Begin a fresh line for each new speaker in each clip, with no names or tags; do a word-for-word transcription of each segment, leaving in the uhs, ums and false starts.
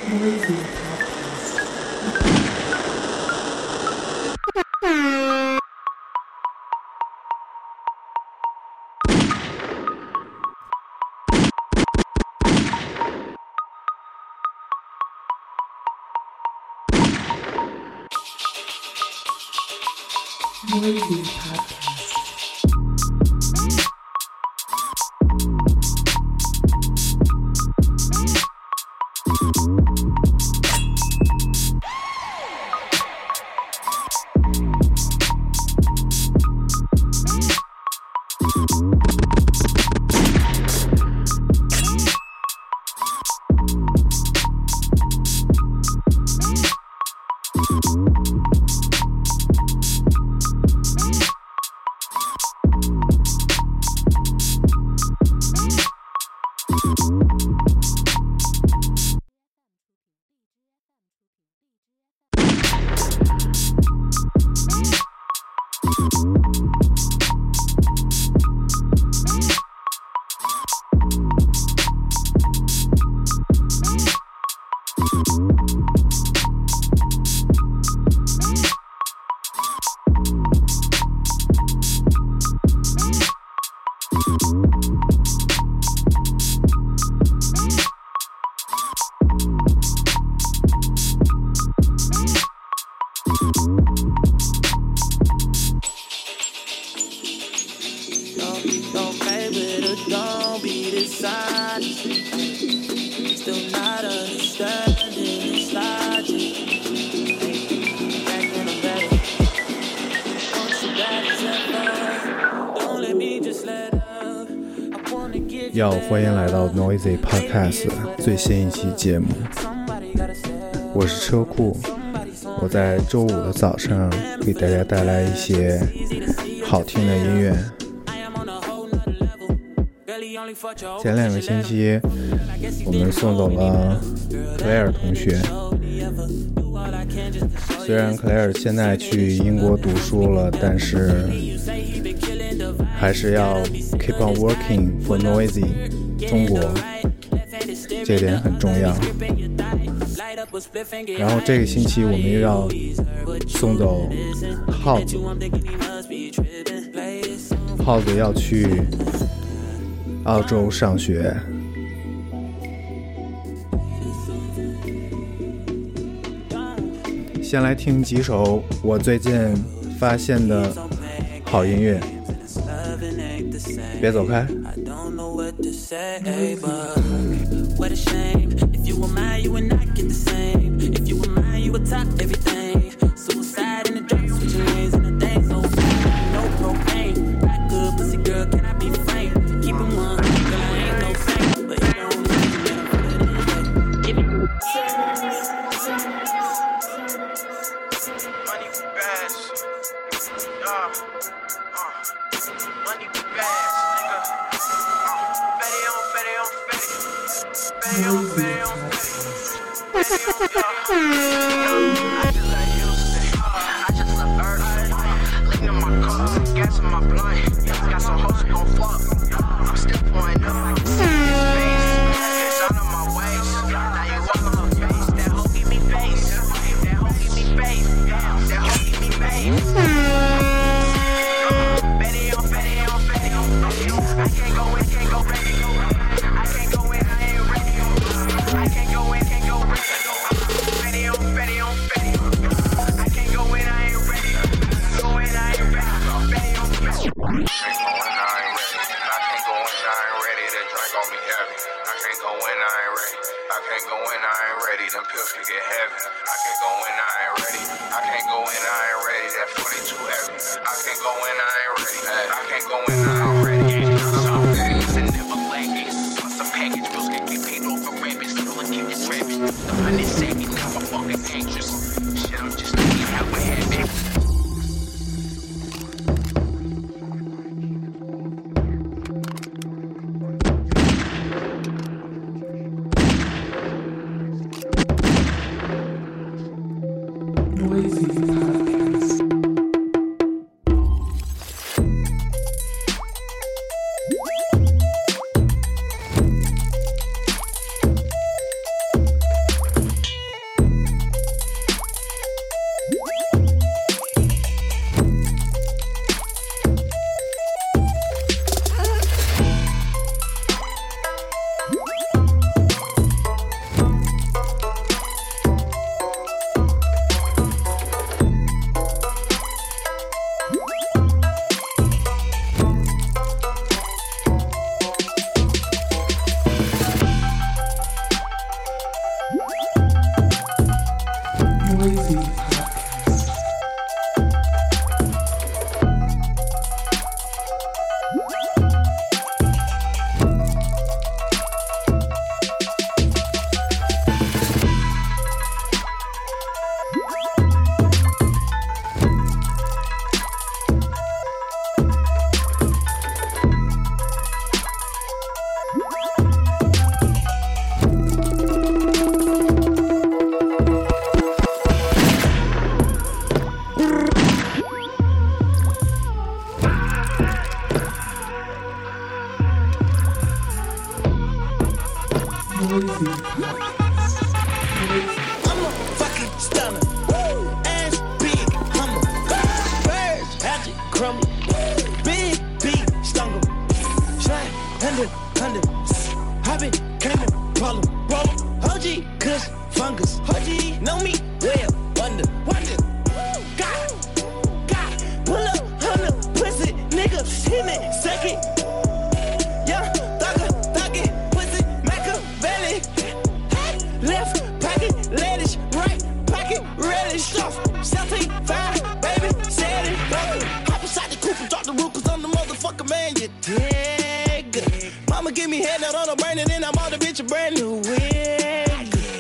Noisy Podcast.
要欢迎来到 Noisy Podcast 最新一期节目，我是车库，我在周五的早上给大家带来一些好听的音乐。前两个星期我们送走了克莱尔同学，虽然克莱尔现在去英国读书了，但是还是要 keep on working for Noisy 中国，这点很重要。然后这个星期我们又要送走耗子，耗子要去澳洲上学。先来听几首我最近发现的好音乐，别走开。
I'm a fucking stunner. Woo! Ass big, hummer. Birds, hatchet, crumble. Big, big, stungle. Slide, hundred, hundred. Hoppin', came and roll 'em, roll 'em. O G, kush, fungus. O G, know me well, wonder, wonder. God, God, pull up, on the pussy, nigga, hit me, second. Yeah, thugger, thugger, pussy, Machiavelli. Left pocket, lettuce, right pocket, relish, stuff. Celtic, fire, baby, said it, bucket. Hop inside the coupe and drop the roof, cause I'm the motherfucker, man, you dig. Mama give me head out on a burning, and I'm all the bitch a brand new wig.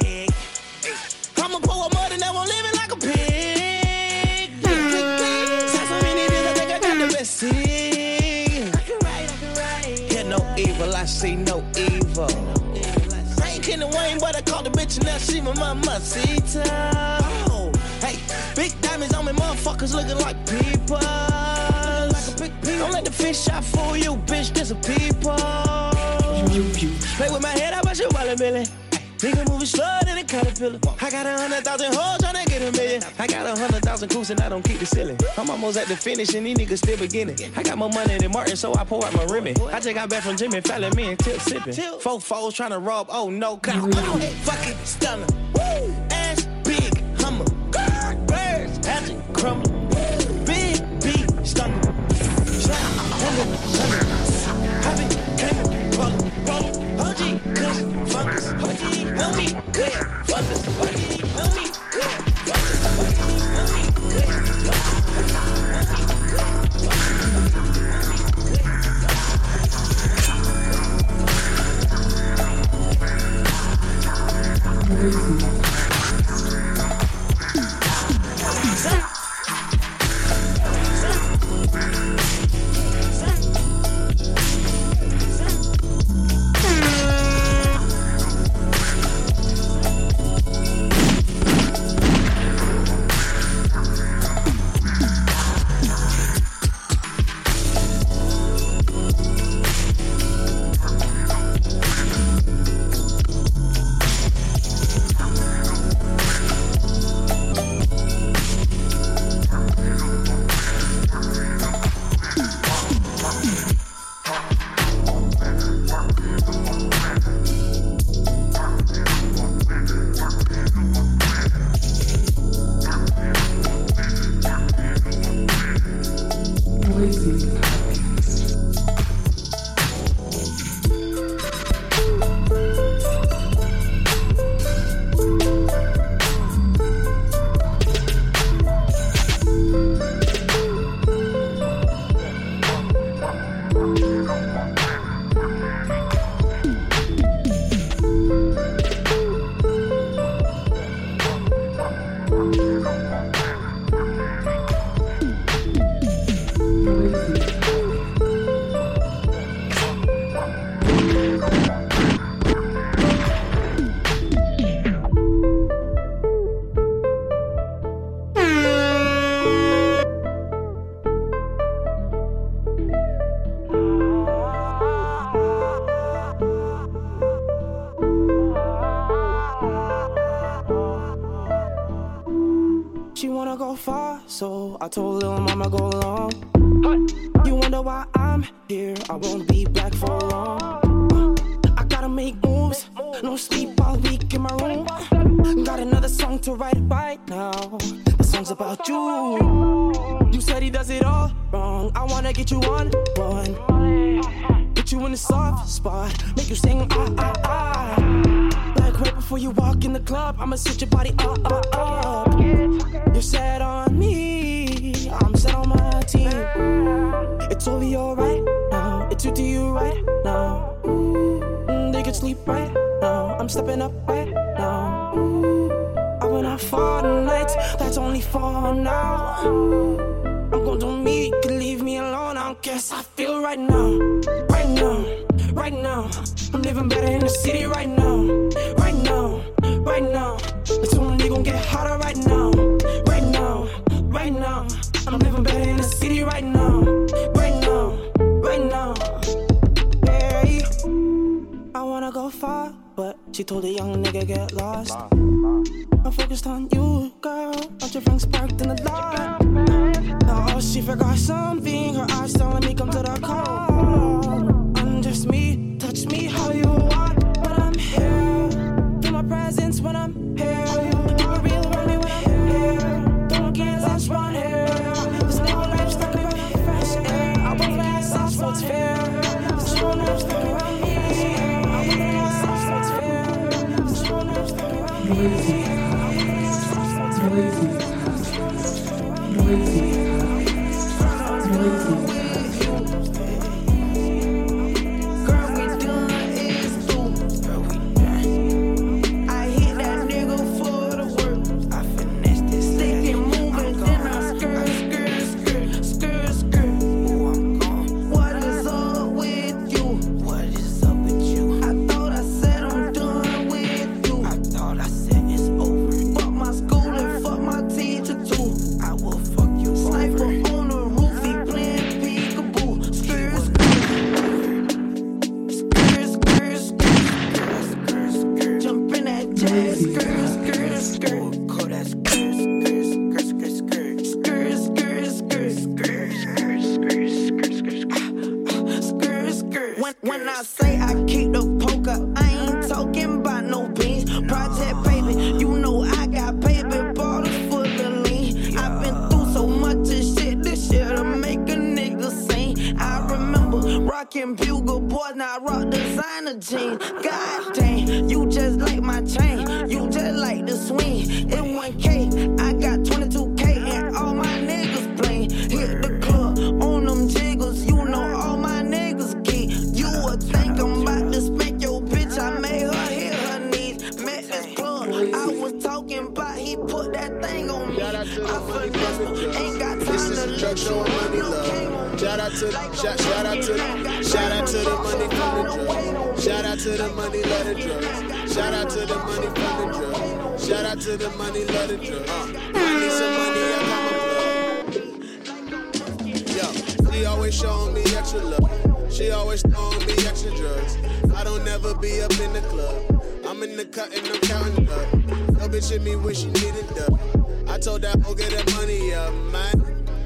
I'ma pour a mud and now I'm living like a pig. Sounds so many days, I think I got the best seed. I can write, I can write. Yeah, no evil, I see no evil. I ain't kidding Wayne, but I called the bitch and now she my mamacita. Oh, hey, big diamonds on me, motherfuckers looking like people. Don't let the fish out fool you, bitch, this a people. Play with my head, I bet you wallet billy. Nigga moving slower than a caterpillar. I got a hundred thousand hoes tryna get a million. I got a hundred thousand coops and I don't keep the ceiling. I'm almost at the finish and these niggas still beginning. I got more money than Martin, so I pour out my Remy. I just got back from Jimmy Fallon, me and Tip sipping. Four foes tryna rob, oh no, cop. I'm a fucking stunner. Woo! Ass big, hummer. Birds, hatchet, crumble. Big, big, stunner. Slap, hundred, hundred. Hoppin', came, roll 'em, roll 'em. O G, kush, fungus. O G, know me, good, fungus. O G, know me, good, fungus. O G, know me, good,
So I told little mama go along. You wonder why I'm here, I won't be back for long. uh, I gotta make moves, no sleep all week in my room. Got another song to write right now. The song's about you. You said he does it all wrong. I wanna get you on one. Put you in the soft spot, make you sing ah ah ah. Like right before you walk in the club, I'ma switch your body up up up. You're set on me, I'm set on my team. It's over your right now, it's you to you right now. Mm, they can sleep right now, I'm stepping up right now. I went out for the night, that's only for now. I'm gonna do me, you can leave me alone. I don't guess I feel right now, right now, right now. I'm living better in the city right now, right now, right now. It's only gonna get hotter right now, right now, right now. I'm living better in the city right now, right now, right now. Hey, I wanna go far, but she told a young nigga get lost. I'm focused on you, girl. Aren't your friends sparked in the lot? Oh, she forgot something. Her eyes telling me come to the call. Undress me, touch me how you want, but I'm here. Feel my presence when I'm here. Keep it real around me when I'm here. Don't get lost round here. This nigga life stuck around me fresh air. I want fast sauce, so it's fair. This nigga life stuck around me. I want fast sauce, so it's fair. This nigga life stuck around me. Noisy, noisy, noisy. Girl, we done is through. Girl, we done. I hit that nigga for the work. I finesse this stick and move it, then I skirt, skirt, skirt, skirt, skirt. Ooh, I'm gone. What is up with you? What is up with you? I thought I said I'm done with you. I thought I said it's over. Fuck my school and fuck my teacher too. I will fuck you. Sniper on the roof, he playing peekaboo. Skirt, skirt, skirt, skirt, skirt, skirt. Jump in that jazz, skirt, skirt, skirt. Call that skirt, skirt, skirt, skirt, skirt, skirt, skirt, skirt, skirt, skirt, skirt, skirt, skirt, skirt. When when I say I keep the poker, I ain't talking about no beans. Project baby, you know I got paper bottles full of lean. I've been through so much of shit, this shit'll make a nigga sing. I remember rocking bugle boys, now I rock designer jeans. God dang, you just like my chain, you just like the swing. In one K, I got twenty-two K and all my niggas playing. Hit the club on them jiggles, you know all my niggas geek. You would think I'm about to spank your bitch, I made her hit her knees. Met this plug, I was talking about, he put that thing on me. I finesse him, ain't got time
This is
to
a drug show and money love. Shout out to shout, shout out to shout out to the money from the drugs. Shout out to the money love the drugs. Shout out to the money from the drugs. Shout out to the money love the drugs. Uh, I need some money, I got my plug. Yo, she always showing me extra love. She always throwing me extra drugs. I don't never be up in the club. I'm in the cut and I'm counting up. No bitch hit me when she needed dub. I told that hoe get that money up, man.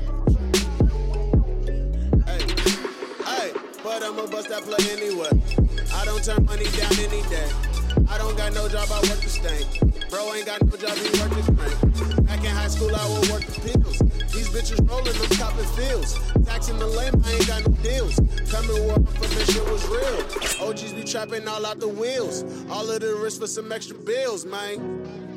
Hey, hey, but I'ma bust that plug anyway. I don't turn money down any day. I don't got no job, I work the stank. Bro ain't got no job, he work the crank. Back in high school, I would work the pills. These bitches rolling, them copping fields. Taxing the lame, I ain't got no deals. Coming war for that shit was real. O Gs be trapping all out the wheels. All of the risk for some extra bills, man.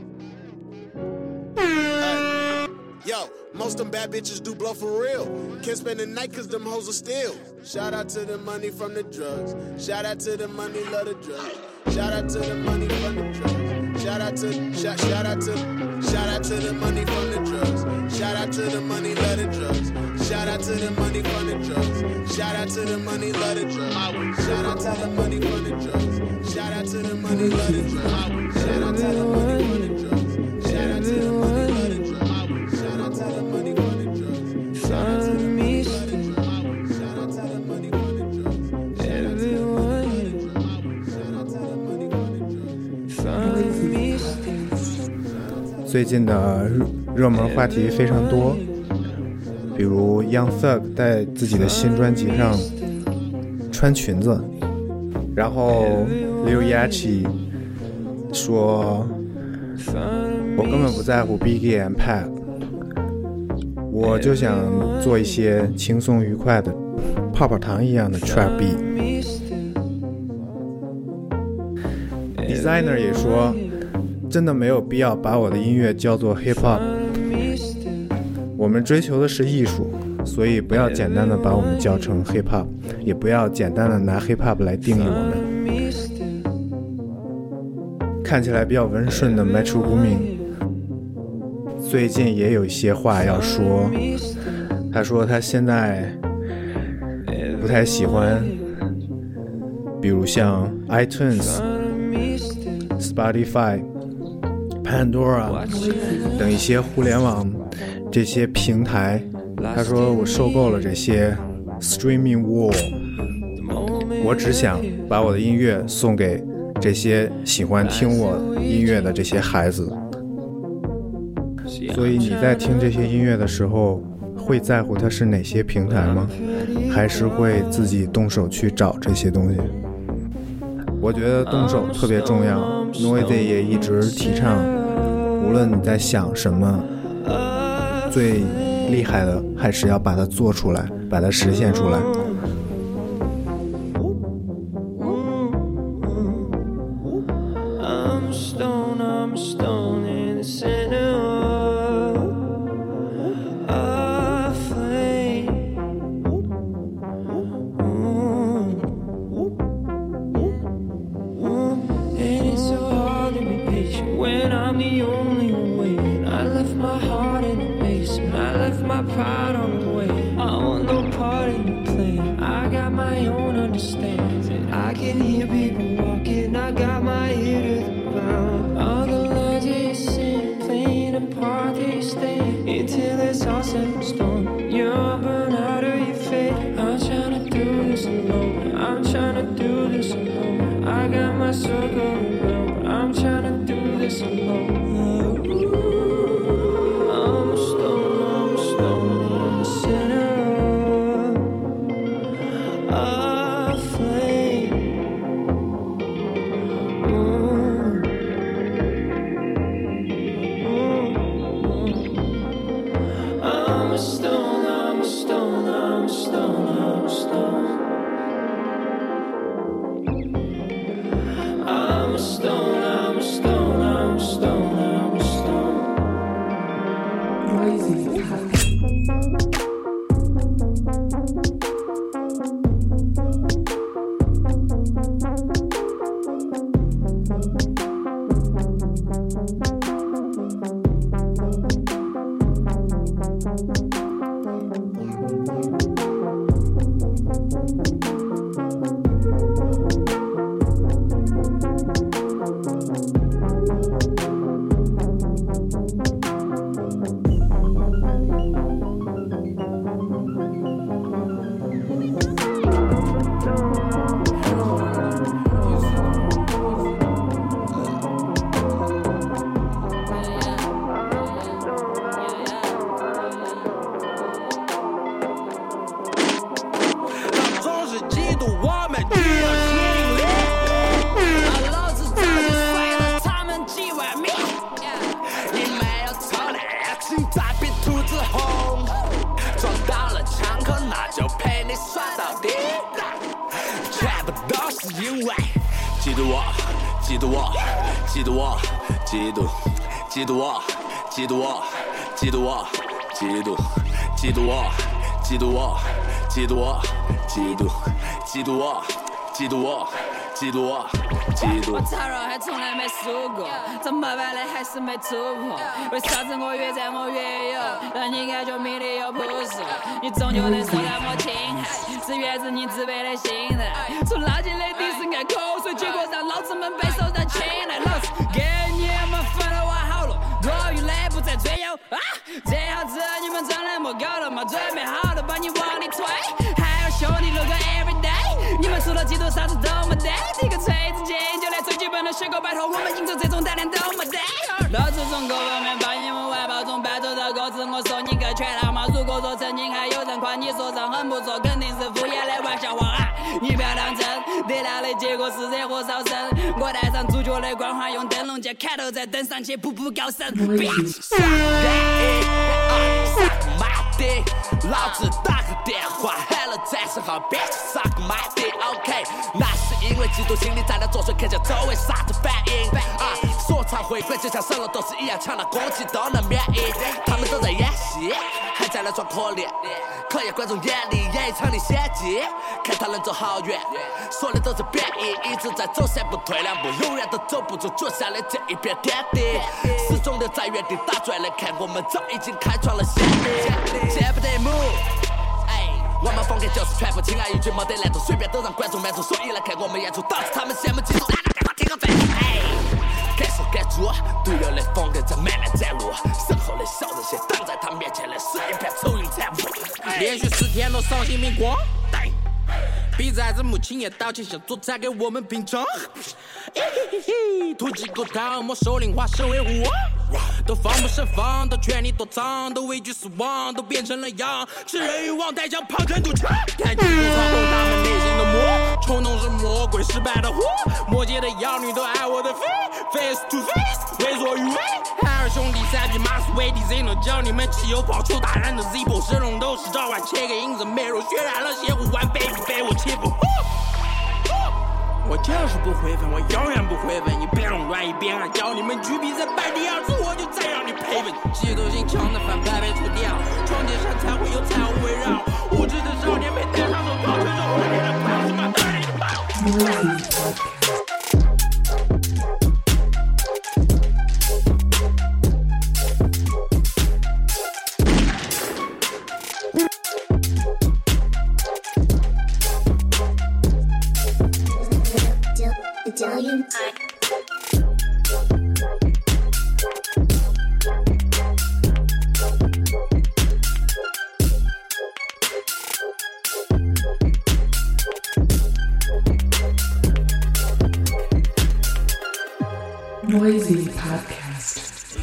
Hey. Yo, most them bad bitches do blow for real. Can't spend the night cause them hoes are still. Shout out to the money from the drugs. Shout out to the money, love the drugs. Shout out to the money from the drugs. Shout out to, shout, shout out to, shout out to the money from the drugs. Shout out to the money, love the drugs. Shout out to the money from the drugs. Shout out to the money, love the drugs. Shout out to the money from the drugs. Shout out to the money, love the drugs. Shout out to the money from the drugs. Shout out to the money, love the drugs. Shout out to the money from the drugs. Shout out to the money, love the drugs. Shout out to the money from the drugs. Everyone. Shout out to the money from the drugs.
最近的热门话题非常多，比如 Young Thug 在自己的新专辑上穿裙子，然后 Lil Yachty 说我根本不在乎 Biggie and Pac， 我就想做一些轻松愉快的泡泡糖一样的 trap beat。 Designer 也说真的没有必要把我的音乐叫做 hip hop， 我们追求的是艺术，所以不要简单的把我们叫成 hip hop， 也不要简单的拿 hip hop 来定义我们。看起来比较温顺的 Metro Boomin 最近也有一些话要说，他说他现在不太喜欢比如像 iTunes、Spotify、Pandora 等一些互联网这些平台，他说我受够了这些 streaming war， 我只想把我的音乐送给这些喜欢听我音乐的这些孩子。所以你在听这些音乐的时候，会在乎它是哪些平台吗？还是会自己动手去找这些东西？我觉得动手特别重要。Noisy 也一直提倡，无论你在想什么，最厉害的还是要把它做出来，把它实现出来。
嫉妒我，嫉妒我，嫉妒我，嫉妒，嫉妒我，嫉妒我，嫉妒我，嫉妒，嫉妒我，嫉妒我，嫉妒我，嫉妒，嫉妒我，嫉妒我，嫉妒我，嫉妒。我操肉还从来没输过，怎么办嘞还是没突破？为啥子我越战我越有，让你感觉迷离又朴素？你终究得受到我侵害，是源自你自卑的心态。从垃圾里滴是爱口水，结果让老子们被受到青睐。老子给你们分的挖好了，多余的不再追求啊！这样子你们长那么高了吗？准备好了把你往里推，还有兄弟如果 everyday， 你们除了嫉妒啥子都没得。这个锤子剑就来最基本的血狗，拜托我们赢走这种大量都没得。老子从各方面把你们外包中搬走的歌词，我送你个全套嘛。如果说曾经还有人夸你说唱很不错，肯定是敷衍的玩笑话啊！你不要当真，得到的结果是热火烧身。我带上主角的光环，用灯笼架砍头再登上去步步高升。老子打个电话喊了战士号 bitch suck my dick OK， 那是因为嫉妒心理在那作祟，看见周围啥子反应啊！说唱回归就像神龙斗士一样，抢了攻击都能免疫。他们都在演戏，还在那装可怜，考验观众眼里演一场的险迹，看他能走好远。说的都是贬义，一直在走三步退两步，永远都走不出脚下的这一片天地。始终留在原地打转的看，我们早已经开创了先例。见不得 move， 哎，我们风格就是全部轻而易举，没得难度，随便都让观众满足。所以来看我们演出，导致他们羡慕嫉妒。听个肺，哎，敢说敢做，独有的风格在慢慢展露，身后的小人些挡在他面前的是一片愁云惨雾。连续四天都赏心明光，
逼崽子母亲也道歉，想做菜给我们品尝。突击狗汤，没收领化身为虎王，都防不胜防，都权力躲藏，都畏惧死亡，都变成了羊。吃人欲望带向旁征赌场，开启不操控他们内心的魔，冲动是魔鬼失败的祸。魔界的妖女都爱我的飞 ，face to face， 为所欲为。海尔兄弟赛比马斯威迪 Z 能教你们汽油跑出打人的 Zippo， 神龙斗士召唤切个影子媚肉，渲染了邪乎玩 baby 被我欺负。我就是不会分，我永远不会分。一边垄断一边爱教你们举比赛败第二次，我就再让你赔本。嫉妒心强的反派被除掉，创建上才会有彩虹围绕。无知的少年被戴上手铐，承受毁灭的狂是马德里的爆。
Italian
Noisy Podcast.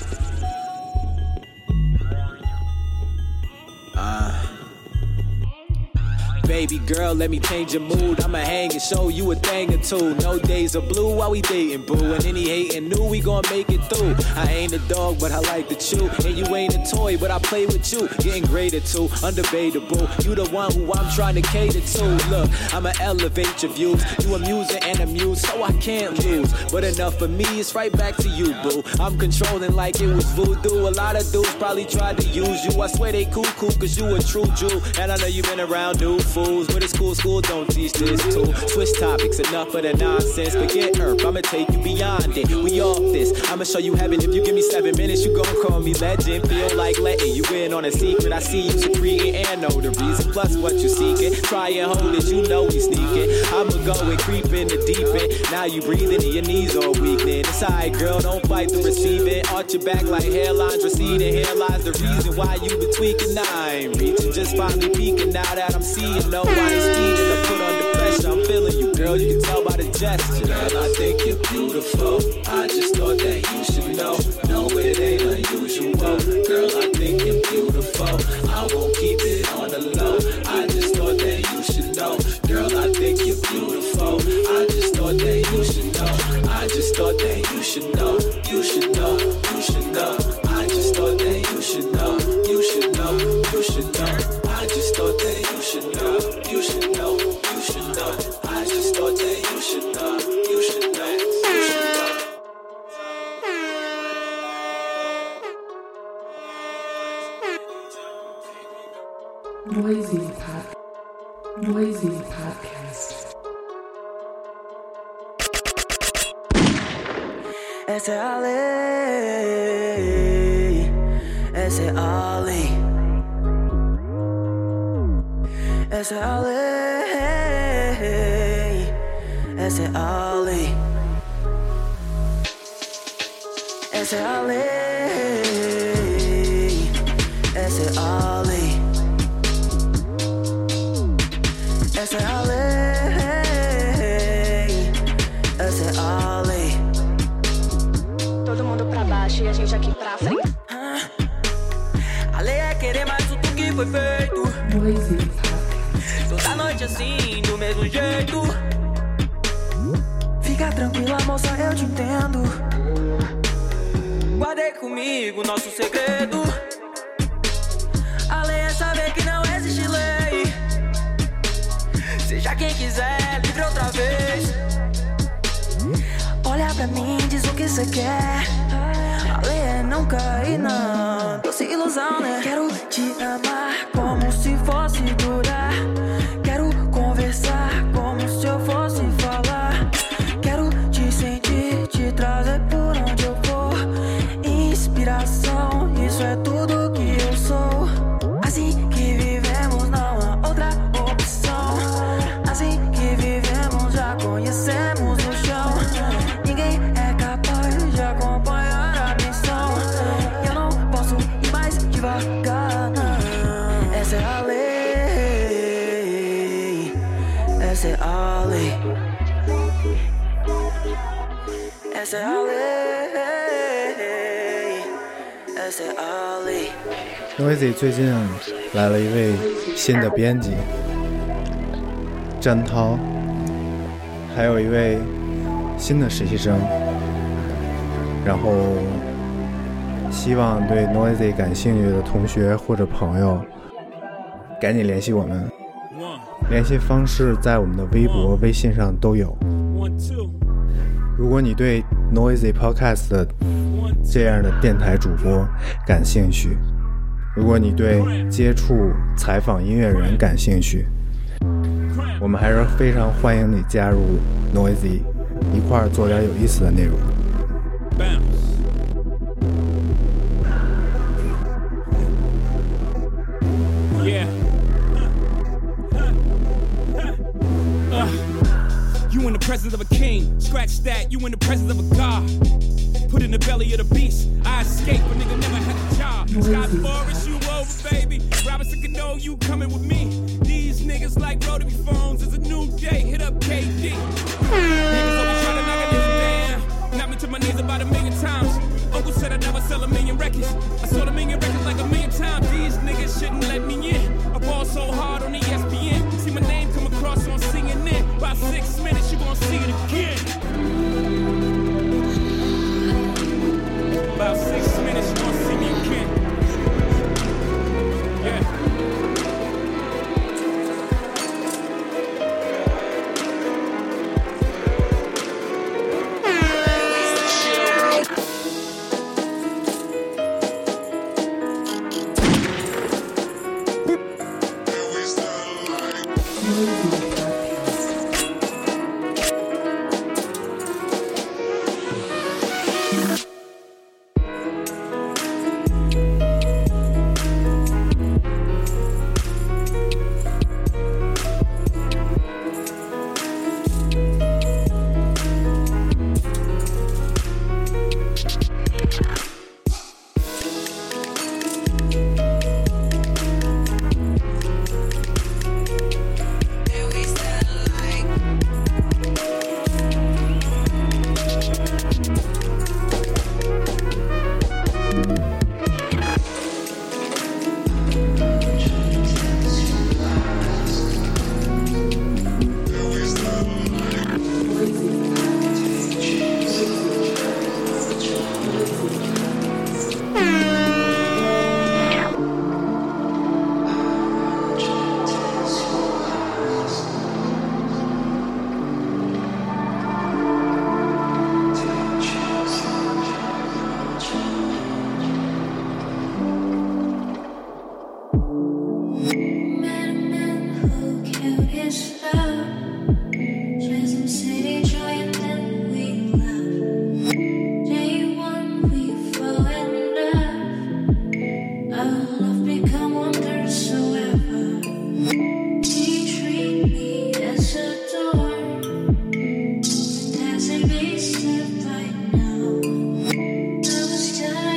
Baby girl, let me change your mood. I'ma hang and show you a thing or two. No days are blue while we dating, boo. And any hating knew we gon' make it through. I ain't a dog, but I like to chew. And you ain't a toy, but I play with you. Getting greater too, undebatable. You the one who I'm trying to cater to. Look, I'ma elevate your views. You amusing and amused, so I can't lose. But enough for me, it's right back to you, boo. I'm controlling like it was voodoo. A lot of dudes probably tried to use you. I swear they cuckoo, cause you a true Jew. And I know you been around new fools. But it's cool, school don't teach this too. Switch topics, enough of the nonsense. Forget Earth, I'ma take you beyond it. We off this, I'ma show you heaven. If you give me seven minutes, you gon' call me legend. Feel like letting you in on a secret. I see you secreting and know the reason. Plus what you seeking. Try and hold it, you know we sneaking. I'ma go and creep in the deep end. Now you breathing and your knees all weak then. It's alright, girl, don't fight the receiving. Arch your back like hairlines receding. Here lies the reason why you been tweaking. I ain't reaching, just finally peeking. Now that I'm seeing, no, I ain't speeding. I put under pressure, I'm feeling you, girl. You can tell by the gesture. Girl, I think you're beautiful. I just thought that you should know. No, it ain't unusual. Girl, I think you're beautiful. I won't keep it on the low. I just thought that you should know. Girl, I think you're beautiful. I just thought that you should know. I just thought that you should know. You should know. You should know. I just thought that you should know. You should know. You should know. I just thought that you should know. You should know. You should know. I just thought that you should know. You should know. You should know.
Noisy Pod. Noisy Podcast.
Essa é a lei, essa é a lei, essa é a lei, essa é a lei, essa é a lei, essa é a lei, essa é a lei, essa é a lei.
Todo mundo pra baixo e a gente aqui pra frente.
A lei é querer mais do que foi feito.
Noisy Podcast.
Toda noite assim, do mesmo jeito. Fica tranquila, moça, eu te entendo. Guardei comigo nosso segredo. A lei é saber que não existe lei. Seja quem quiser, livre outra vez. Olha pra mim, diz o que cê quer. A lei é não cair na doce ilusão, né? Quero te amar como se fosse durar. Quero conversar como se eu fosse falar. Quero te sentir, te trazer por onde eu vou. Inspiração, isso é tudo que eu sou. Assim que vivemos, não há outra opção. Assim que vivemos, já conhecemos o chão. Ninguém é capaz de acompanhar a missão. Eu não posso ir mais devagar, não.
Noisy 最近来了一位新的编辑詹涛，还有一位新的实习生，然后希望对 Noisy 感兴趣的同学或者朋友赶紧联系我们，联系方式在我们的微博微信上都有。如果你对 Noisy Podcast 这样的电台主播感兴趣，如果你对接触采访音乐人感兴趣，我们还是非常欢迎你加入 Noisy， 一块儿做点有意思的内容。
Yeah. Uh, you in the presence of a king. Scratch that, you in the presence of a god. Put in the belly of the beast. I escape, but nigga never had a job. Scott Forrest, you over, baby. Robinson Cano, you coming with me. These niggas like rotary phones. It's a new day, hit up K D. Niggas always try to knock a nigga down. Knock me to my knees about a million times. Uncle said I'd never sell a million records. I sold a million records like a million times. These niggas shouldn't let me in. I ball so hard on E S P N. See my name come across on C N N. About six minutes, you gon' see it again. About six minutes, you gon' see me again. Yeah.
Stop.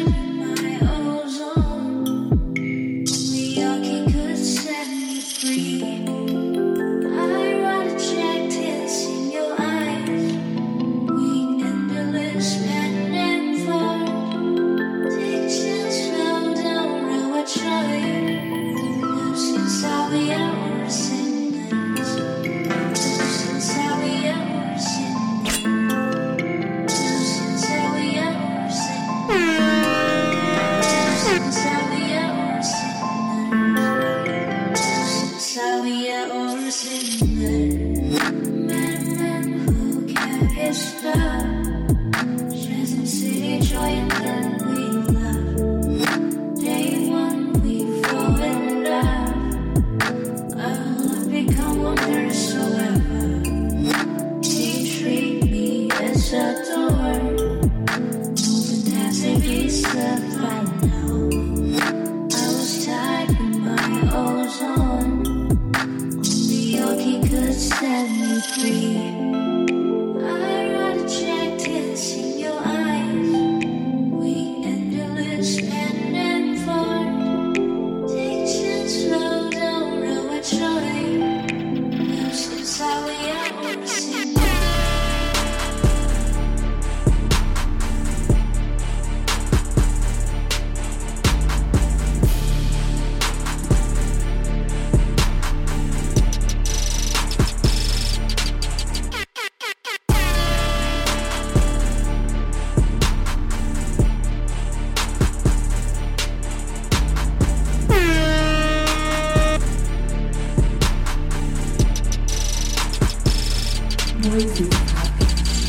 Noisy Podcast.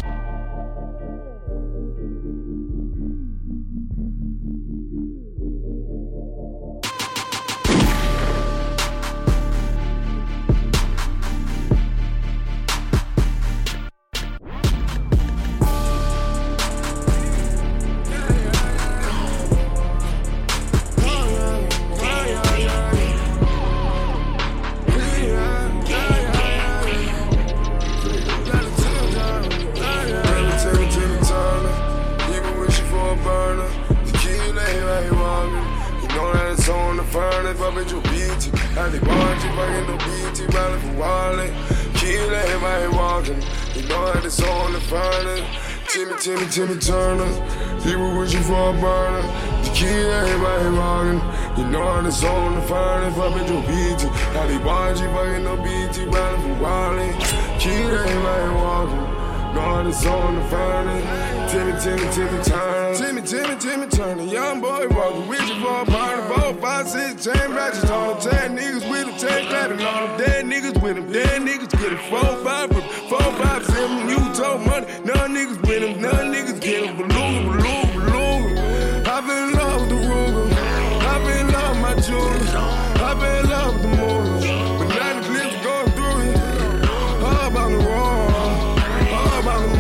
Timmy, Timmy Turner, he was wishing for a burner. The kid, everybody walking. You know how this on the furnace, poppin' your B T. How they want you fucking no B T, riding from Wally. Kid, everybody walking. Know how this on the furnace. Timmy, Timmy, Timmy Turner. Timmy, Timmy, Timmy Turner. Young boy walking, wishing for a burner. Four, five, six, ten ratchets on him. Ten niggas with him, ten clapping on him. Dead niggas with him, dead niggas get it. Four, five, four, five, seven. You told money, none niggas with him, none niggas get him. Beluga, beluga, beluga. I been in love with the Ruger. I been in love with my jewelry. I been in love with the movie. But now the clips going through it. All about the wall. All about the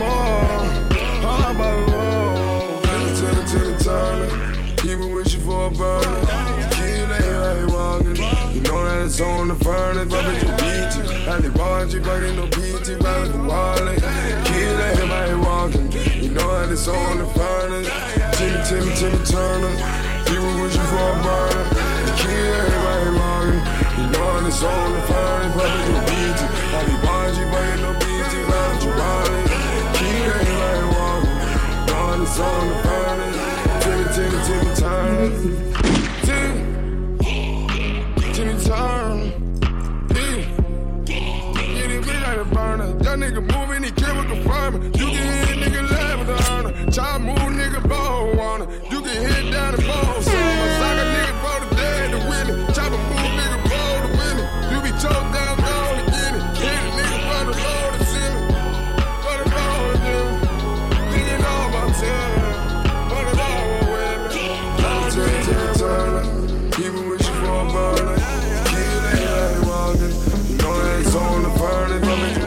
mall. All about the wall. Timmy, Timmy Turner. He was wishing for a burner. Kid ain't how he walking. You know that it's on the furnace. Poppin' your B T. How they want you fucking no P T. Riding from Wally. Kid ain't how he walking. You know that it's on the furnace. Timmy, Timmy, Timmy Turner. He was wishing for a burner. Kid ain't how he walking. You know that it's on the furnace. Poppin' your B T. How they want you fucking no P T. Riding from Wally. Kid ain't how he walking. You know that it's on the furnace. Timmy, Timmy, Timmy Turner. Timmy, Timmy Turner. Burner. That nigga moving, he kill with confirmer. You can hit nigga laugh with the honor. Child move nigga bone wanna. You can hit down the bone. Summer sock a nigga for the dead to win it. Chopper move nigga roll to win it. You be choked down, gone to get it. Hit a nigga for the low to send it. For the low to do it. Nigga know about telling. For the low to win it. Timmy, Timmy Turner. People wishing for a burner. Kid ain't like walking. You know that it's on the furnace.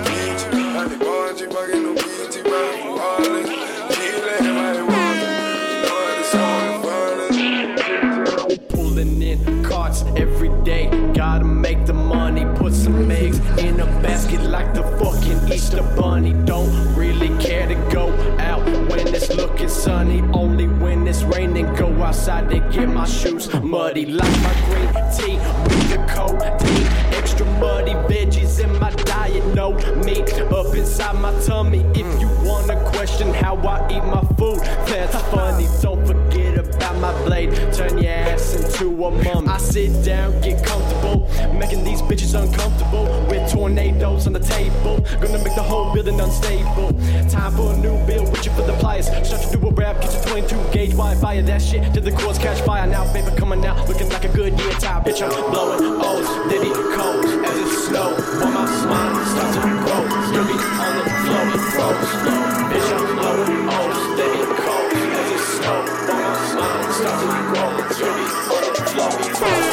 Every day, gotta make the money. Put some eggs in a basket like the fucking Easter Bunny. Don't really care to go out when it's looking sunny. Only when it's raining, go outside to get my shoes muddy. Like my green tea with the codeine. Extra muddy veggies in my diet. No meat up inside my tummy. If you wanna question how I eat my food, that's funny. Don't forget about my blade. Turn your ass into a mummy. I sit down, get comfortable, making these bitches uncomfortable with tornadoes on the table. Gonna make the whole building unstable. Time for a new build, reaching for the pliers. Start to do a rap, get to twenty-two gauge wide fire. That shit till the cords catch fire. Now paper coming out, looking like a good year tie. Bitch, I'm blowing O's, Diddy cold as it snow. While my smile starts to grow, still be on the floor, flow slow. Bitch, I'm blowing O's, Diddy cold as it snow. While my smile starts to grow, still be on the floor, flow.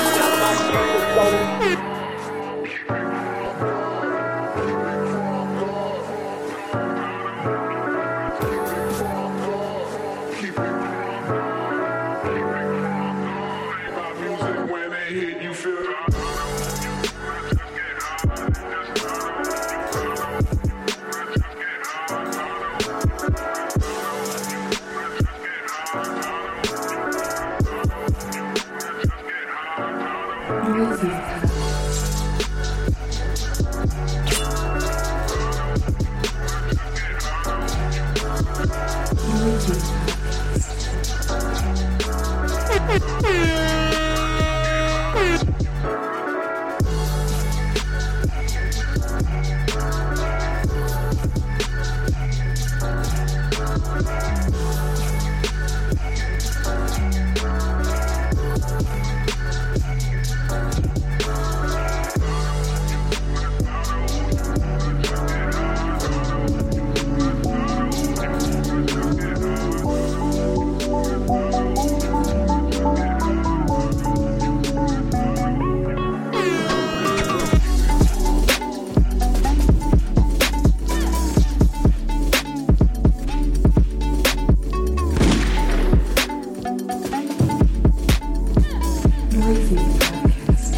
Noisy Podcast.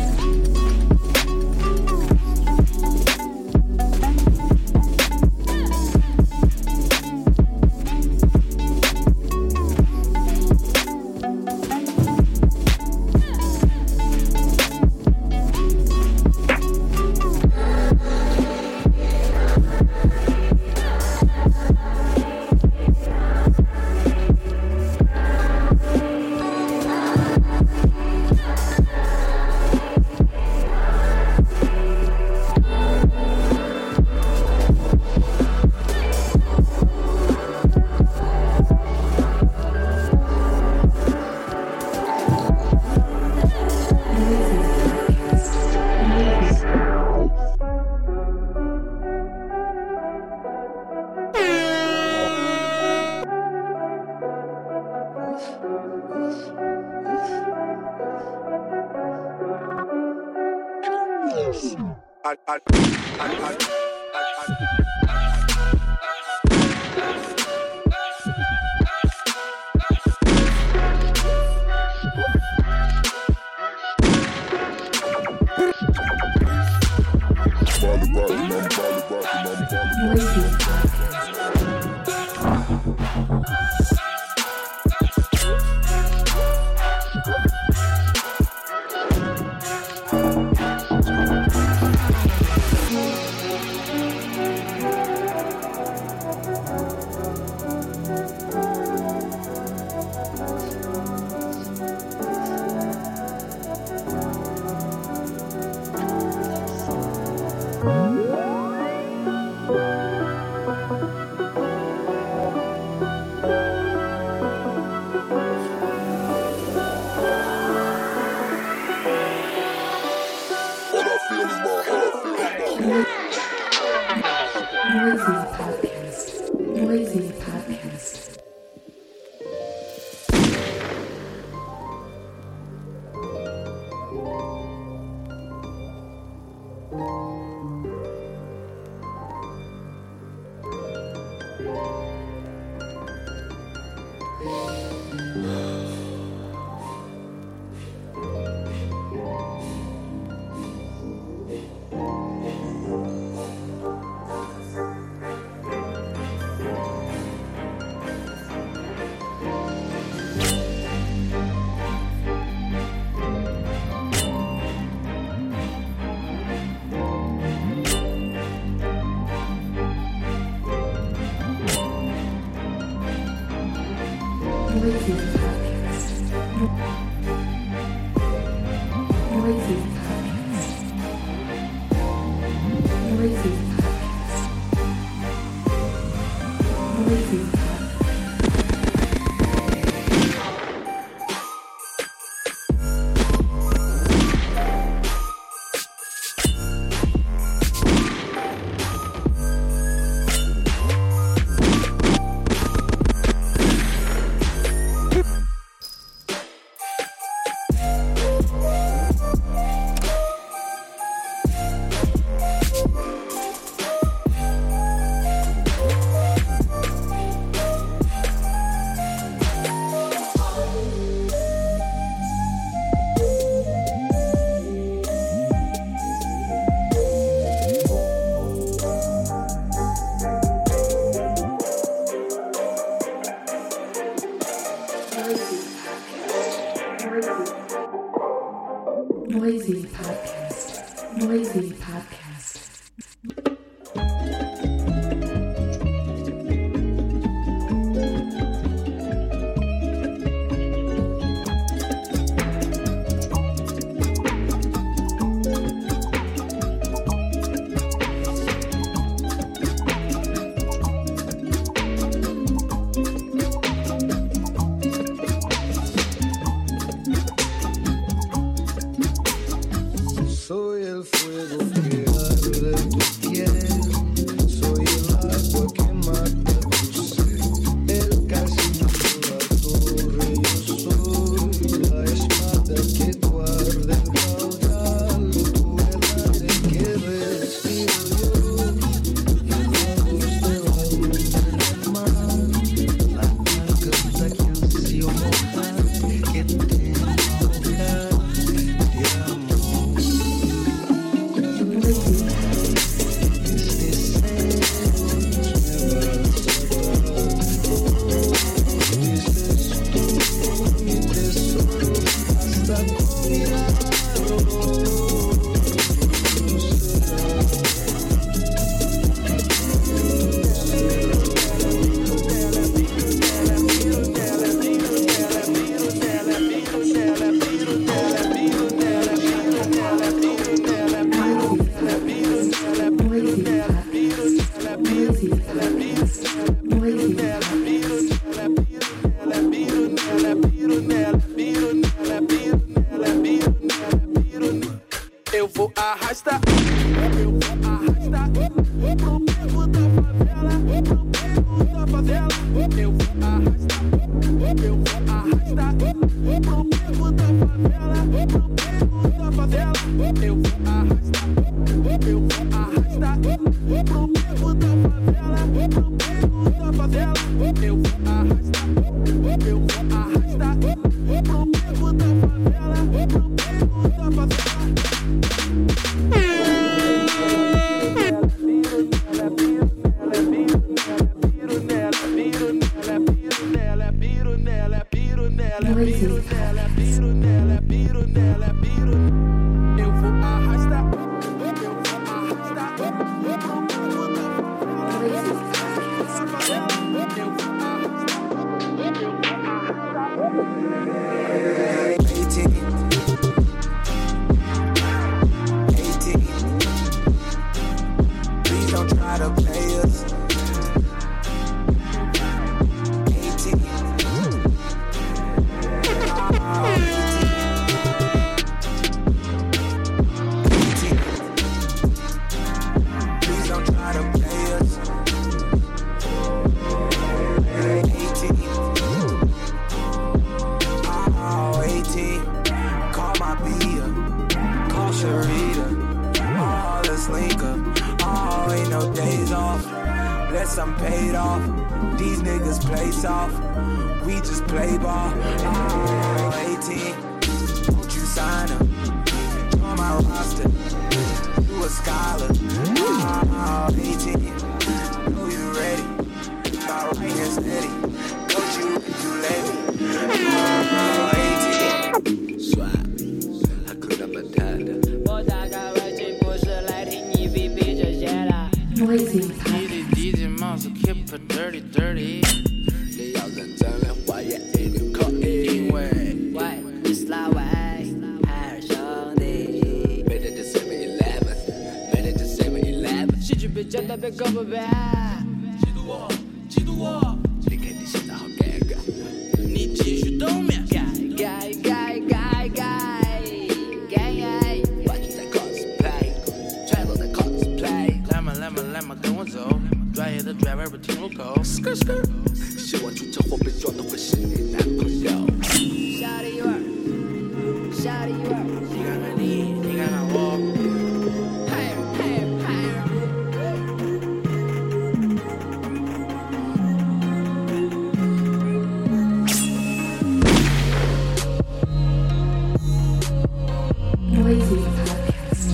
I, I, I, I, Noisy Podcast. Noisy Podcast. Noisy Podcast. Noisy Podcast. Noisy Podcast. Noisy Podcast. Noisy Podcast.
Soy el fuego que
nela, é piro nela, é piro nela, é piro. Eu vou arrastar, eu vou arrastar. Eu vou
I'm paid off. These niggas play soft. We just play ball. Oh, eighteen, won't you sign up? Join my roster. You a scholar. Oh, eighteen, know you ready. My right hand steady. Don't you, you let me. Oh, eighteen. Swag, hakuna matata. 我大概外景不是来听你比比这些啦。
Noisy
Keep it dirty, dirty.
你要认真的话也一定可以。
因为
喂，你是哪位？海尔兄弟。
每天的 seven eleven， 每天的 seven eleven。
喜剧别讲的别搞不别。
嫉妒我，嫉妒我。
你看你现在好尴尬。
你继续冬眠。
改改改改改改。
完全在 cosplay， 全都在 cosplay。
来嘛来嘛来嘛跟我走。专业的 driver 不听路口 ，skr skr，
希望出车祸被撞的会是你男朋友。
小李味儿，小李味儿，
你看看你，你看看我，
拍拍拍。
Noisy Podcast.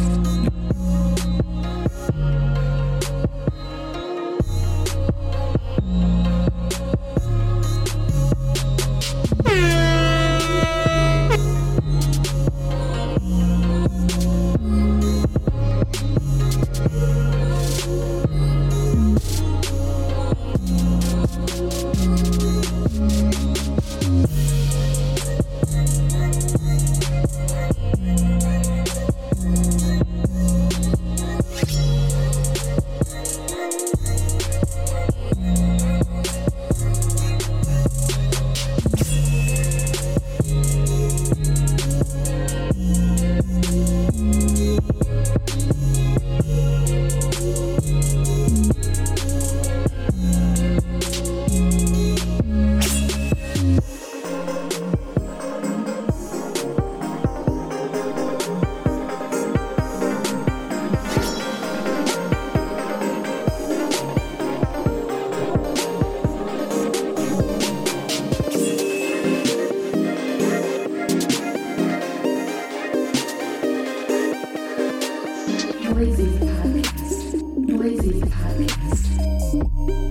Noisy Podcast. Noisy Podcast.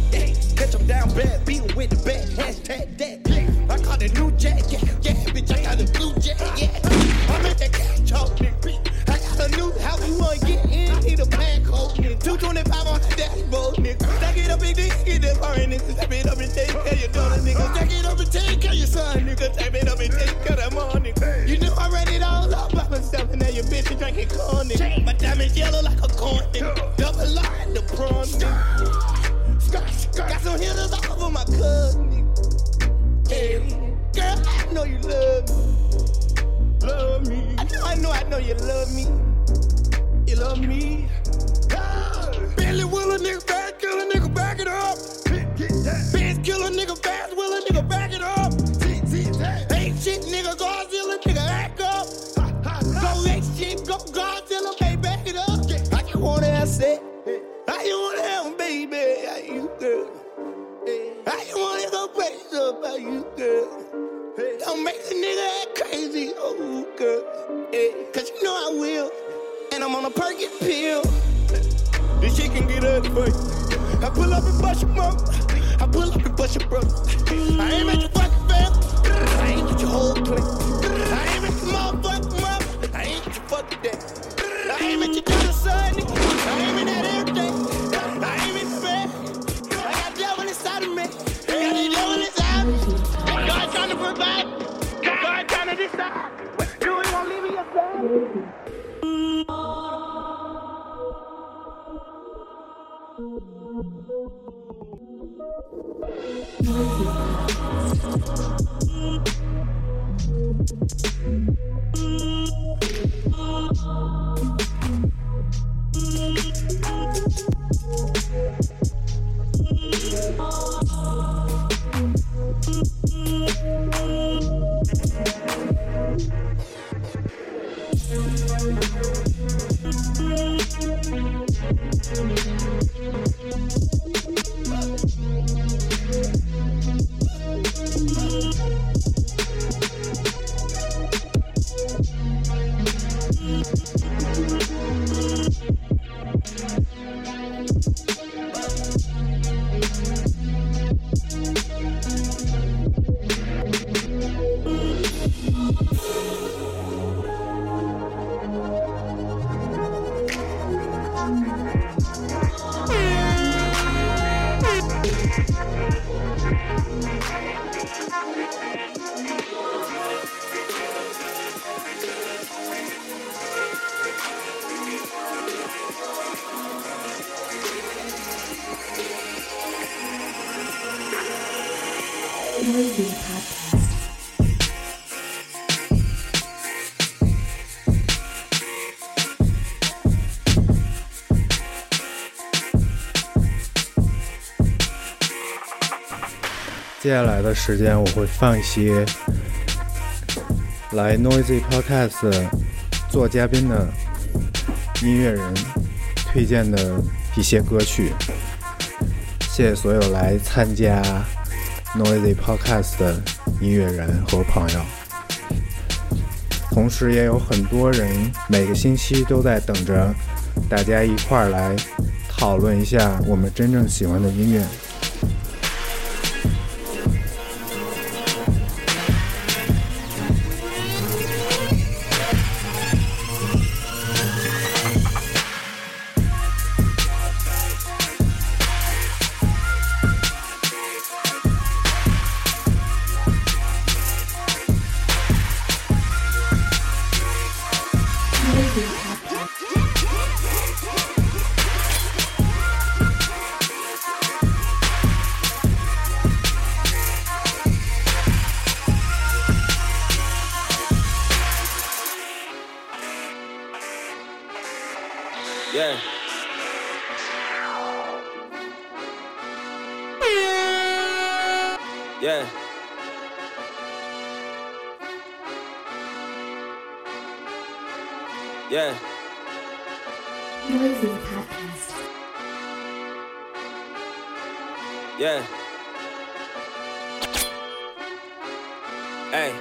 Yeah, catch him down bad, beat him with the bat. Hashtag that. Yeah, I caught the new jack. Yeah, yeah, bitch, I got the blue jack. Yeah, I'm at that cash talk, nigga. I got a new house, you wanna get in? Need a pack hole, nigga. two twenty-five on the dashboard, nigga. Stack it up, big dick, get that foreign nigga. Stack it up and take care of your daughter, nigga. Stack it up and take care of your son, nigga. Stack it up and take care of that mom, nigga. You know I ran it all up by myself, and now your bitch is drinking corn, nigga. My diamond's yellow like a corn, nigga. Double line, the prawn, nigga. Got some hitters all over my cousin, nigga. Hey, girl, I know you love me. Love me. I know, I know, I know you love me. You love me. Billy Willer, nigga, fast killer, nigga, back it up. Fast killer, nigga, fast Willer, nigga, back it up. Ain't shit, nigga, Godzilla, nigga, act up. Go ain't shit, go Godzilla, baby, back it up. I just wanna have sex. I just wanna have baby, how you, girl? I just wanna go crazy about you, girl. Don't make a nigga act crazy, oh, girl. Cause you know I will. And I'm on a Perky pill. This shit can get ugly for you. I pull up and bust your mom. I pull up and bust your brother. I ain't at your fucking family. I ain't at your whole clique. I ain't at your motherfucking mom. I ain't at your fucking dad. I ain't at your daughter's son, nigga. I ain't at everything. I ain't in the bed. I got devil inside of me. I got the devil inside of me. God trying to provide. God trying to decide. What you doing? Won't leave me aside.
Noisy Podcast.
接下来的时间我会放一些来 Noisy Podcast 做嘉宾的音乐人推荐的一些歌曲。谢谢所有来参加 Noisy Podcast 的音乐人和朋友，同时也有很多人每个星期都在等着大家一块儿来讨论一下我们真正喜欢的音乐。
Yeah. Yeah. Yeah.
Noisy Podcast.
Yeah. Hey.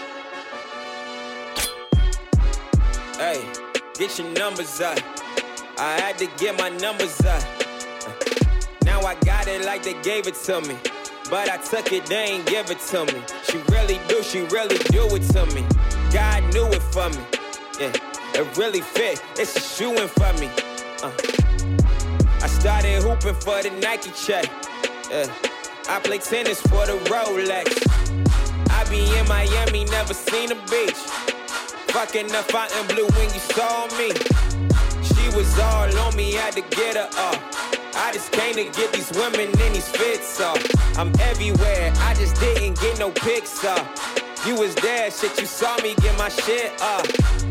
Hey, get your numbers up. I had to get my numbers up. Now I got it like they gave it to me. But I took it, they ain't give it to me. She really do, she really do it to me. God knew it for me. Yeah, it really fit, it's a shoe-in for me. Uh. I started hooping for the Nike check. Yeah. I play tennis for the Rolex. I be in Miami, never seen a beach. Fucking the fountain blue when you saw me. She was all on me, had to get her up. I just came to get these women in these fits off. I'm everywhere, I just didn't get no pics up. You was there, shit, you saw me get my shit up.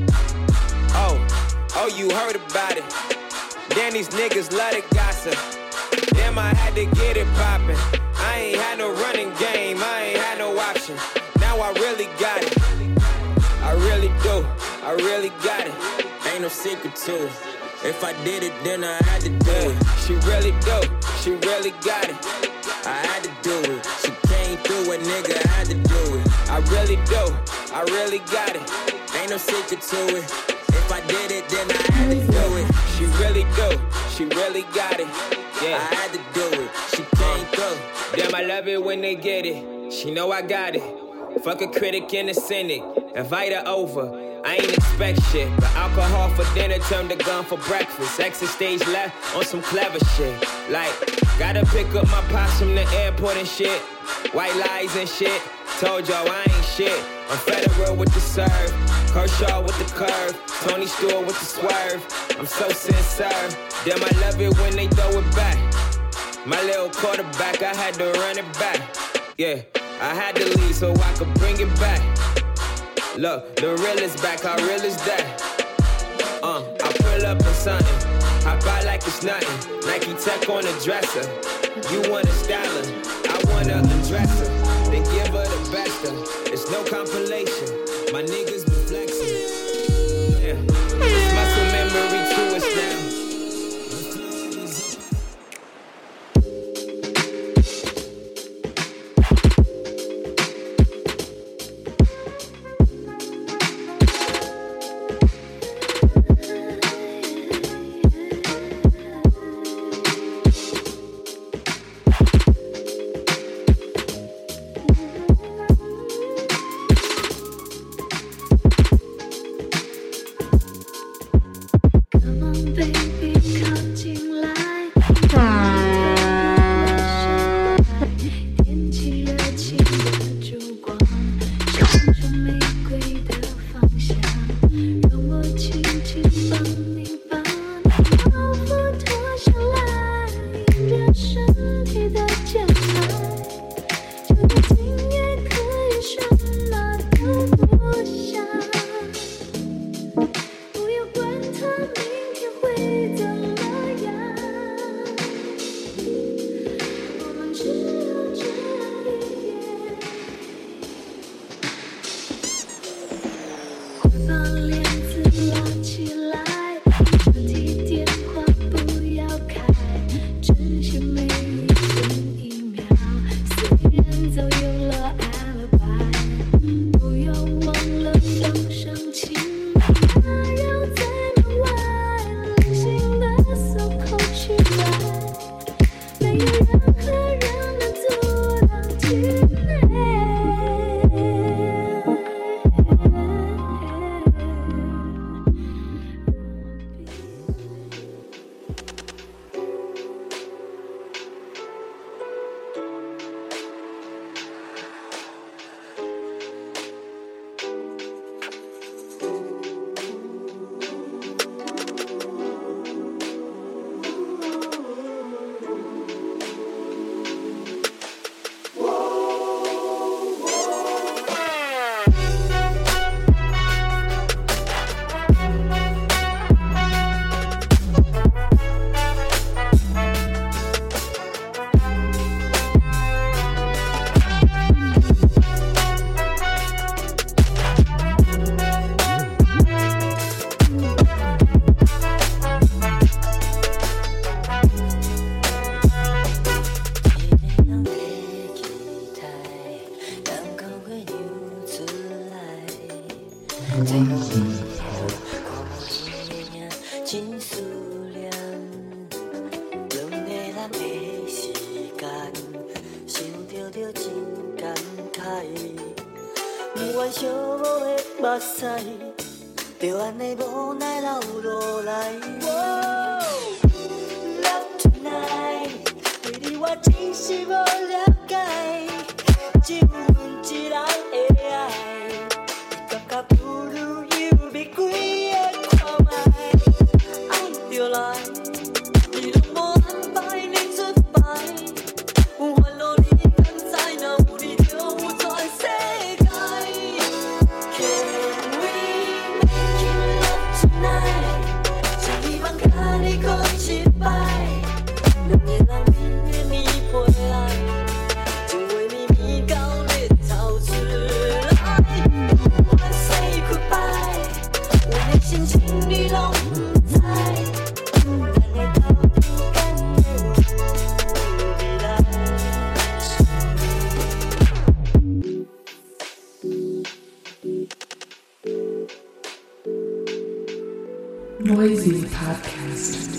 Oh, oh, you heard about it. Then these niggas love to gossip. Damn, I had to get it poppin'. I ain't had no running game, I ain't had no option. Now I really got it. I really do, I really got it. Ain't no secret to it. If I did it, then I had to do it. She really do, she really got it. I had to do it. She came through it, nigga, I had to do it. I really do, I really got it. Ain't no secret to it. If I did it, then I had to do it. She really do, she really got it. Yeah, I had to do it. She came through. Damn, I love it when they get it. She know I got it. Fuck a critic and a cynic. Invite her over. I ain't expect shit, but alcohol for dinner turned to gun for breakfast. Exit stage left on some clever shit. Like, gotta pick up my pops from the airport and shit. White lies and shit. Told y'all I ain't shit. I'm Federer with the serve, Kershaw with the curve, Tony Stewart with the swerve. I'm so sincere. Damn, I love it when they throw it back. My little quarterback, I had to run it back. Yeah, I had to leave so I could bring it back. Look, the real is back, how real is that? Uh, I pull up in something, hop out like it's nothing. Nike Tech on the dresser. You want a styler, I want to undress her. Then give her the best of. It's no compilation. My niggas be flexing. Yeah, it's muscle memory to us now.
人的时间，想着着真感慨，不愿寂寞的目屎，就安尼无奈流落来。Love tonight， 对你我真是无了解，只有阮一人的爱，感觉不如有别几个看卖，爱就来。
Noisy Podcast.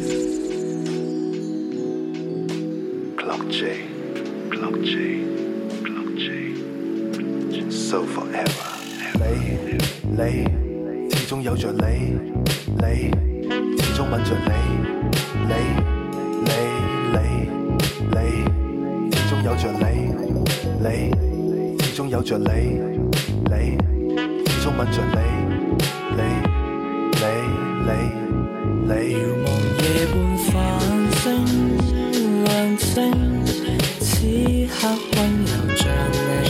Clock J, Clock J, Clock J, So forever.
你你始終有着你，你始終吻着你，你你你你始終有着你，你始終有着你，你始終吻着你，你你你。
遙望夜半繁星亮星，此刻溫柔像你，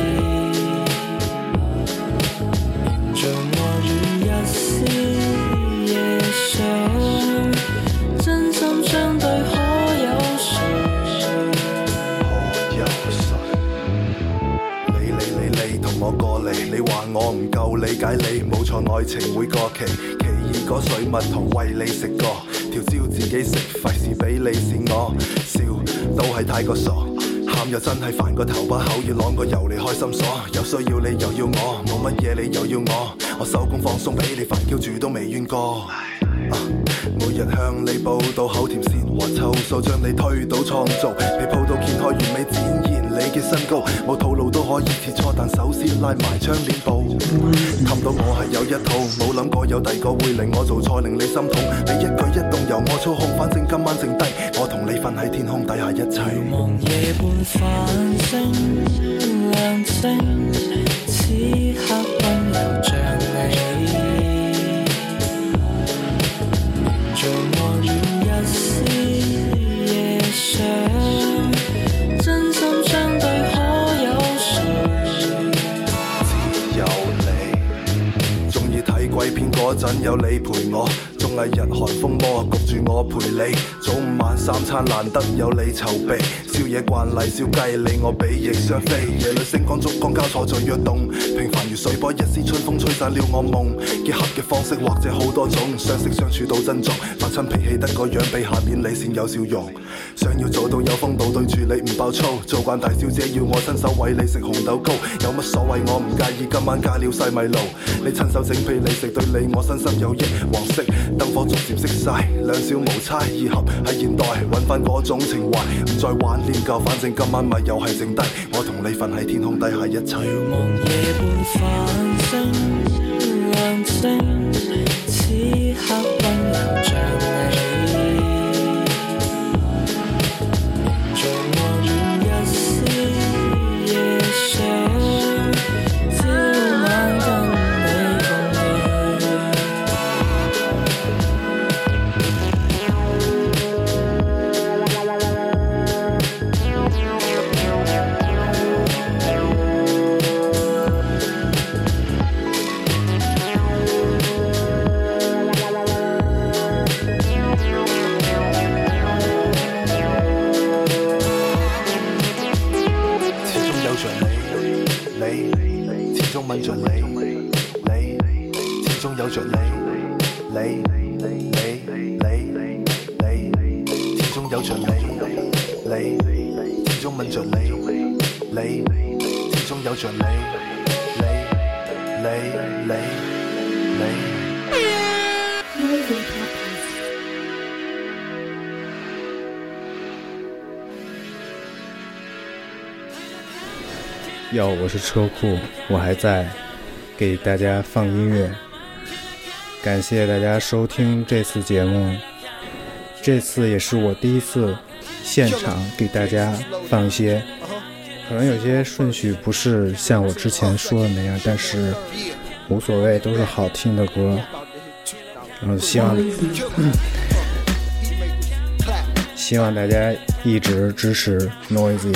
凝聚我與一絲夜想，真心相對可有誰？
可有誰？你你你你同我過嚟，你話我唔夠理解你，冇錯愛情會過期。嗰水蜜桃為你食過，條蕉自己食，費事俾你試我，笑都係太過傻，喊又真係煩過頭把口要啷個油嚟開心鎖，有需要你又要我，冇乜嘢你又要我，我收工放鬆俾你煩 Q 住都未怨過。啊、每日向你報到口甜舌滑湊數，將你推到創造，被鋪到掀開完美展現你嘅身高，冇套路都可以切磋，但首先拉埋窗簾布，氹到我係有一套，冇諗過有第個會令我做錯令你心痛，你一舉一動由我操控，反正今晚剩低我同你瞓喺天空底下一齊。
遙望夜半繁星亮星，此刻溫柔像你。做我與一絲夜想，真心相對可有誰？
只有你，鍾意睇鬼片嗰陣有你陪我，綜藝日韓風魔焗住我陪你，早午晚三餐難得有你籌備，宵夜慣例燒雞你我比翼雙飛，夜裏星光燭光交錯在躍動，平凡如水波一絲春風吹散了我夢，結合嘅方式或者好多種，相識相處到珍重，發親脾氣得個樣比下面你先有笑容，想要做到有風度對住你唔爆粗，做慣大小姐要我親手餵你食紅豆糕，有乜所謂我唔介意今晚加了細米露，你親手整俾你食對你我身心有益，黃色燈火逐漸熄晒，兩小無猜，二合喺現代揾翻嗰種情懷，唔再玩練舊，反正今晚咪又係剩低我同你瞓喺天空底下一齊。
遙望夜半繁星亮星，此刻溫柔像你，做我與一絲夜想，朝晚跟你共鳴。
吻着你，你始終有着你，你你你你始終有着你，你始終吻着你，你始終有着你，你你你你。
哟，我是车库，我还在给大家放音乐。感谢大家收听这次节目，这次也是我第一次现场给大家放一些，可能有些顺序不是像我之前说的那样，但是无所谓，都是好听的歌。然后希望、嗯、希望大家一直支持 Noisy，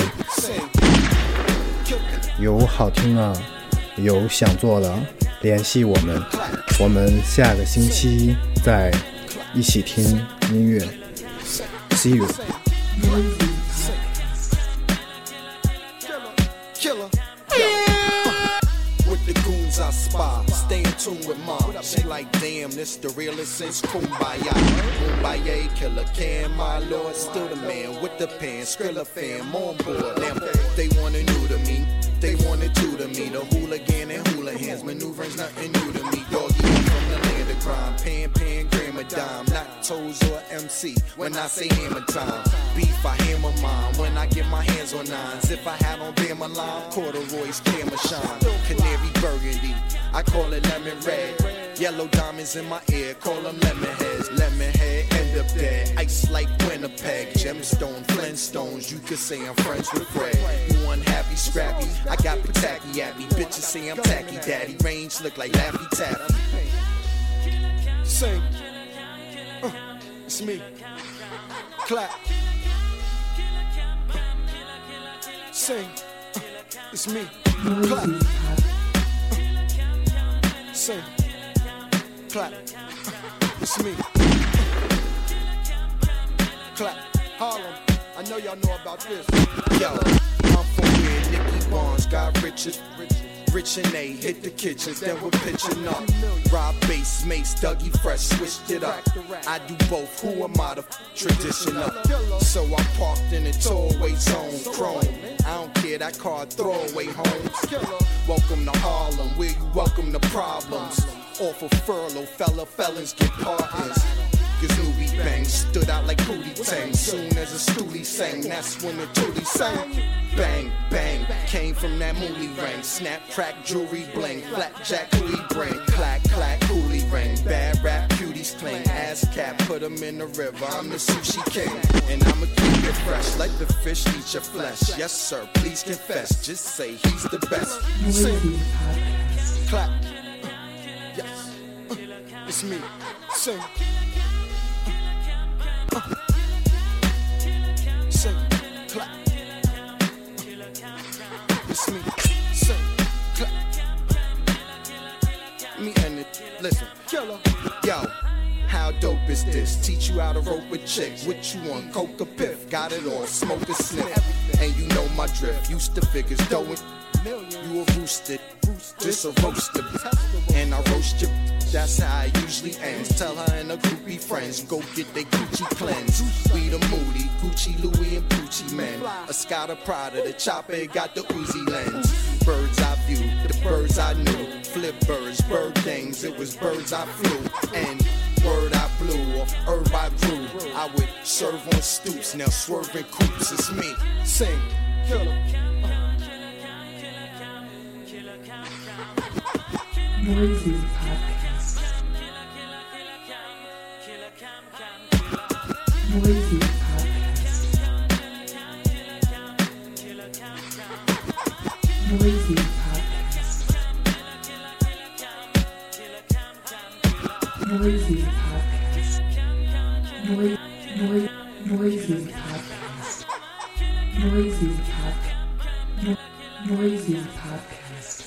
有好听的，有想做的，联系我们，我们下个星期再一起听音乐。See you。
I spy, stay in tune with mom. She like, damn, this the realest since Kumbaya. Kumbaya, killer can, my lord, still the man with the pen, Skrilla fam on board. Damn, they wanna new to me, they wanted two to me. The hooligan and hula hands, maneuvering's nothing new to me. Doggy from the land of crime, pan, pan, gram a dime, not toes or M C. When I say hammer time, beef I hammer mine. When I get my hands on nines, if I had on Bama line, corduroys, camera shine, canary burgundy. I call it lemon red. Yellow diamonds in my ear, call them lemon heads. Lemon head, end up dead. Ice like Winnipeg, gemstone, Flintstones. You could say I'm friends with Fred. You unhappy, scrappy. I got Pataki at me. Bitches say I'm tacky, daddy. Range look like Laffy Taffy. Sing. Uh, it's me. Clap. Sing. Uh, it's me. Clap. Sing, clap, it's me. Clap, Harlem, I know y'all know about this. Yo, I'm from where Nicky Barnes got riches. Rich and A hit the kitchens, then we're pitching up. Rob bass, Mace, Dougie Fresh, switched it up. I do both, who am I, the traditional? So I'm parked in a throwaway zone, chrome. I don't care, that car throwaway homes. Welcome to Harlem, where you welcome the problems. Off of furlough, fella felons get partners. Gazooby bang, stood out like Hootie Tang. Soon as a stoolie sang, that's when the toolie sang. Bang, bang, came from that moolie ring. Snap, crack, jewelry bling. Blackjack, coolie bring. Clack, clack, coolie ring. Bad rap, cuties cling. Ass cap, put them in the river. I'm the sushi king. And I'ma keep it fresh. Let the fish eat your flesh. Yes, sir, please confess. Just say he's the best. Sing, clap. Uh, yes, uh, it's me. Sing. Uh, sing, clap. Uh, it's me. Sing, clap. Me and it. Listen, killer. Yo, how dope is this? Teach you how to rope a chick. What you want? Coke or piff? Got it all. Smoke a sniff. And you know my drift. Used to figures dough it. You a roosted. This a roaster. And I roast you. That's how it usually ends. Tell her and her groupie friends, go get their Gucci cleanse. We the Moody, Gucci, Louis, and Gucci men. A Scotta Prada, the chopper got the Uzi lens. Birds I view, the birds I knew. Flip birds, bird things, it was birds I flew. And word I blew off herb I grew. I would serve on stoops, now swerving coops. It's me. Sing, killer.
Noisy Podcast. Noisy Podcast. Noisy Podcast. Noisy Podcast. Noi- noi- noisy Podcast. Noisy Podcast. No- noisy Podcast.